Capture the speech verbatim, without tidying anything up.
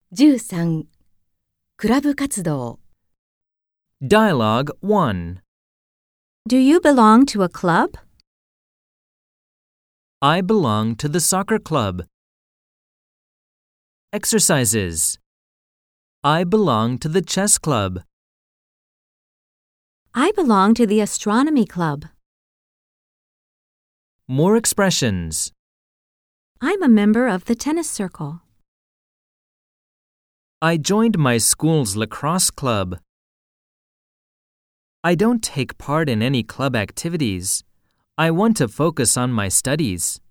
じゅうさん. クラブ活動 Dialogue one. Do you belong to a club? I belong to the soccer club. Exercises. I belong to the chess club. I belong to the astronomy club. More expressions. I'm a member of the tennis circle. I joined my school's lacrosse club. I don't take part in any club activities. I want to focus on my studies.